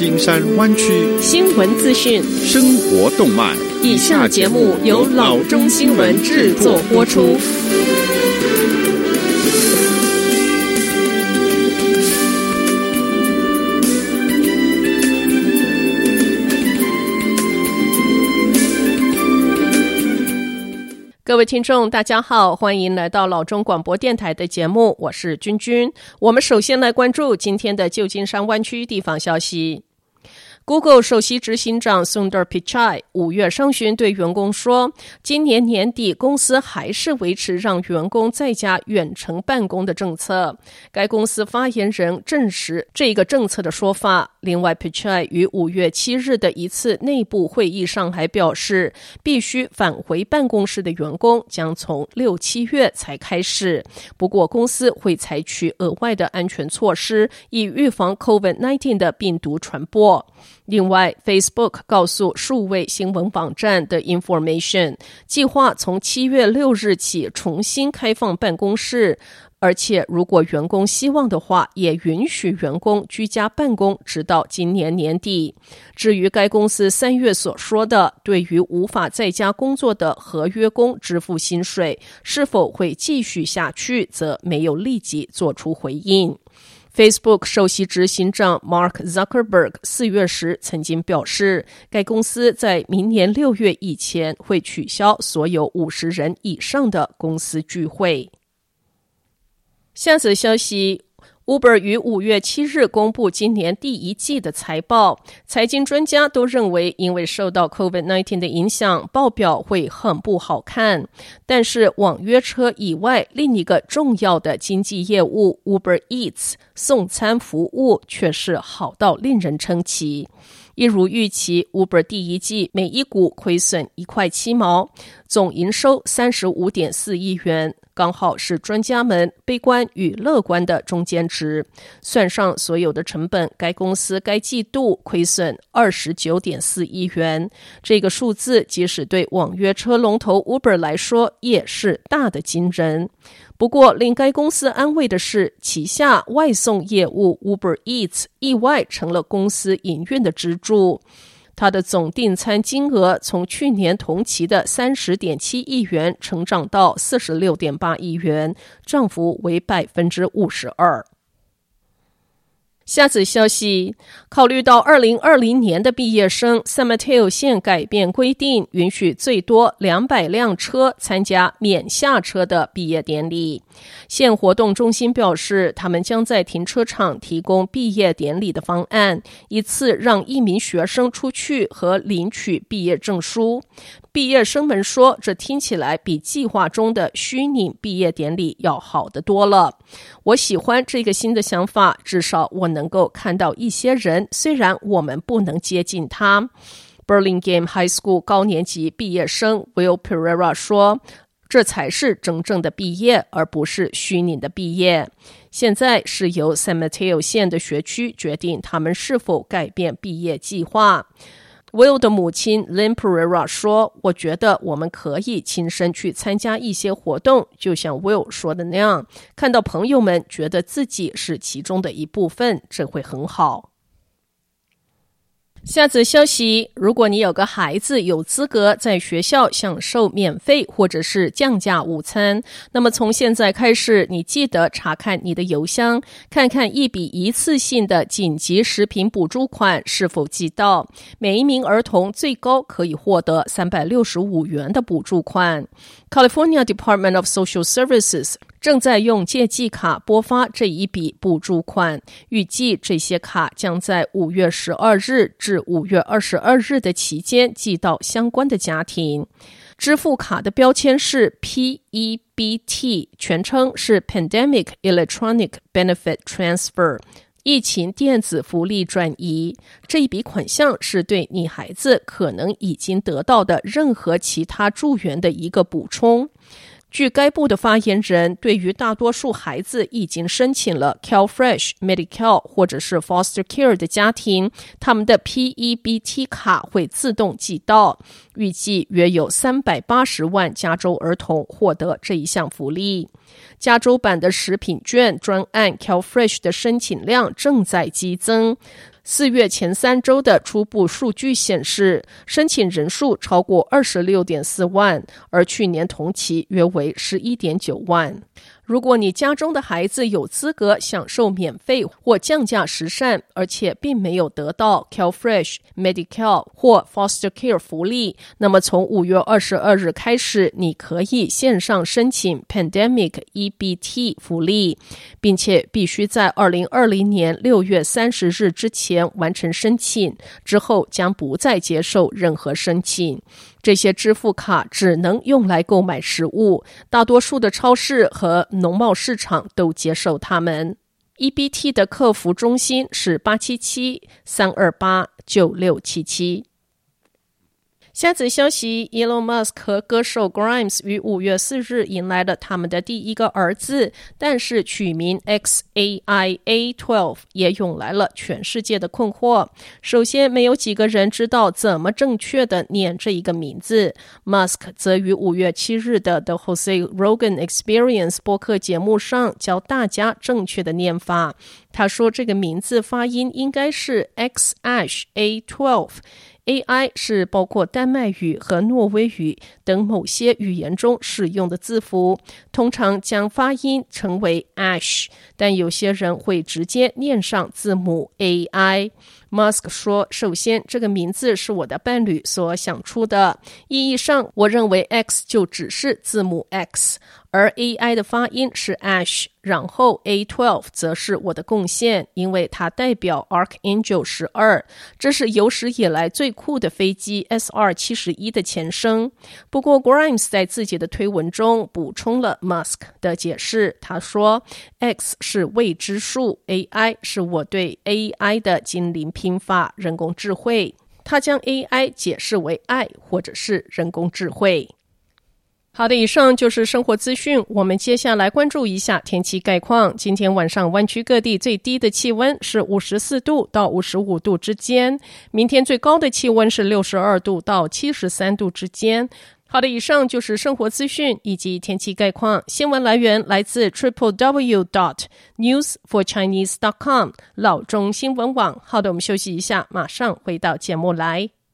金山灣區新聞資訊、 生活動脈。 以下節目由老中新聞製作播出。各位听众大家好，歡迎來到老中廣播電臺的節目，我是君君。我們首先來關注今天的舊金山灣區地方消息。Google 首席執行長 Sundar Pichai 5月上旬對員工說，今年年底公司還是維持讓員工在家遠程辦公的政策。該公司發言人證實這個政策的說法。另外 Pichai 於5月7日的一次內部會議上還表示，必須返回辦公室的員工將從6、7月才開始。不過公司會採取額外的安全措施，以預防 COVID-19 的病毒傳播。另外 Facebook 告訴數位新聞網站的 Information 計劃從7月6日起重新開放辦公室，而且如果員工希望的話，也允許員工居家辦公直到今年年底。至於該公司3月所說的對於無法在家工作的合約工支付薪水是否會繼續下去，則沒有立即做出回應。Facebook 首席執行長 Mark Zuckerberg 4月時曾經表示，該公司在明年6月以前會取消所有50人以上的公司聚會。下則消息，Uber 於5月7日公布今年第一季的財報，財經專家都認為因為受到 COVID-19 的影響，報表會很不好看。但是網約車以外，另一個重要的經濟業務 Uber Eats 送餐服務卻是好到令人稱奇。一如預期 Uber 第一季每一股虧損1塊7毛，總營收 35.4 億元，剛好是專家們悲觀與樂觀的中間值。算上所有的成本，該公司該季度虧損 29.4 億元。這個數字即使對網約車龍頭 Uber 來說也是大的驚人。不過令該公司安慰的是，旗下外送業務 Uber Eats 意外成了公司營運的支柱。它的總訂餐金額從去年同期的 30.7 億元成長到 46.8 億元，漲幅為 52%。下則消息，考慮到2020年的畢業生 San Mateo 縣改變規定，允許最多200輛車參加免下車的畢業典禮。縣活動中心表示，他們將在停車場提供畢業典禮的方案，一次讓1名學生出去和領取畢業證書。畢業生們說，這聽起來比計劃中的虛擬畢業典禮要好得多了。我喜歡這個新的想法，至少我能夠看到一些人，雖然我們不能接近他。Burlingame High School 高年級畢業生 Will Pereira 說，這才是真正的畢業，而不是虛擬的畢業。現在是由 San Mateo 縣的學區決定他們是否改變畢業計劃。Will 的母親 Lynn Pereira 說，我覺得我們可以親身去參加一些活動，就像 Will 說的那樣，看到朋友們覺得自己是其中的一部分，這會很好。下則消息，如果你有個孩子有資格在學校享受免費或者是降價午餐，那麼從現在開始，你記得查看你的郵箱，看看一筆一次性的緊急食品補助款是否寄到。每一名兒童最高可以獲得365元的補助款。California Department of Social Services 正在用借記卡撥發這一筆補助款，預計這些卡將在5月12日至5月22日的期間寄到相關的家庭。支付卡的標籤是 PEBT， 全稱是 Pandemic Electronic Benefit Transfer， 疫情電子福利轉移。這一筆款項是對你孩子可能已經得到的任何其他助援的一個補充。據該部的發言人，對於大多數孩子已經申請了 CalFresh、Medi-Cal 或者是 Foster Care 的家庭，他們的 PEBT 卡會自動寄到。預計約有380萬加州兒童獲得這一項福利。加州版的食品券專案 CalFresh 的申請量正在激增。 4月前3週的初步數據顯示，申請人數超過 26.4 萬，而去年同期約為 11.9 萬。如果你家中的孩子有資格享受免費或降價食膳，而且並沒有得到 CalFresh、Medi-Cal 或 Foster Care 福利，那麼從5月22日開始，你可以線上申請 Pandemic EBT 福利，並且必須在2020年6月30日之前完成申請，之後將不再接受任何申請。這些支付卡只能用來購買食物，大多數的超市和農貿市場都接受它們。EBT 的客服中心是877-328-9677。下則消息 Elon Musk 和歌手 Grimes 於5月4日迎來了他們的第一個兒子，但是取名 XAIA12 也湧來了全世界的困惑。首先，沒有幾個人知道怎麼正確的念這一個名字。Musk 則於5月7日的 The Jose Rogan Experience 播客節目上教大家正確的念法。他說這個名字發音應該是 XAIA12。AI 是包括丹麥語和挪威語等某些語言中使用的字符，通常將發音稱為 Ash， 但有些人會直接念上字母 AI。Musk 說，首先這個名字是我的伴侶所想出的，意義上我認為 X 就只是字母 X， 而 AI 的發音是 Ash， 然後 A12 則是我的貢獻，因為它代表 Archangel 12，這是有史以來最酷的飛機 SR-71 的前身。不過 Grimes 在自己的推文中補充了 Musk 的解釋，他說 X 是未知數， AI 是我對 AI 的精靈拼法，人工智慧。他將 AI 解釋為愛或者是人工智慧。好的，以上就是生活資訊。我們接下來關注一下天氣概況。今天晚上灣區各地最低的氣溫是54度到55度之間，明天最高的氣溫是62度到73度之間。好的，以上就是生活資訊以及天氣概況。新聞來源來自 www.newsforchinese.com 老中新聞網。好的，我們休息一下，馬上回到節目來。